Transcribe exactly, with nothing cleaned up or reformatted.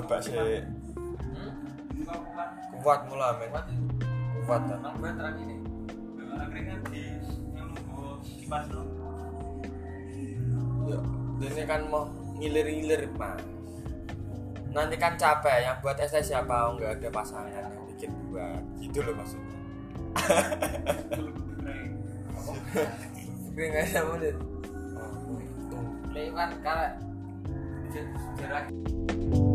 coba sih. Hmm? Kuat. Kuat mula men. Kuat. Kuat kan. Nang gue terang ini. Akhirnya di yang nunggu kipas lo. Ya, ini kan mau ngilir-ngilir mas. Nanti kan capek yang buat S S siapa nggak ada pasangan yang bikin buat gitu loh maksudnya. Kering aja menit. Oh, Lewat kalau jarak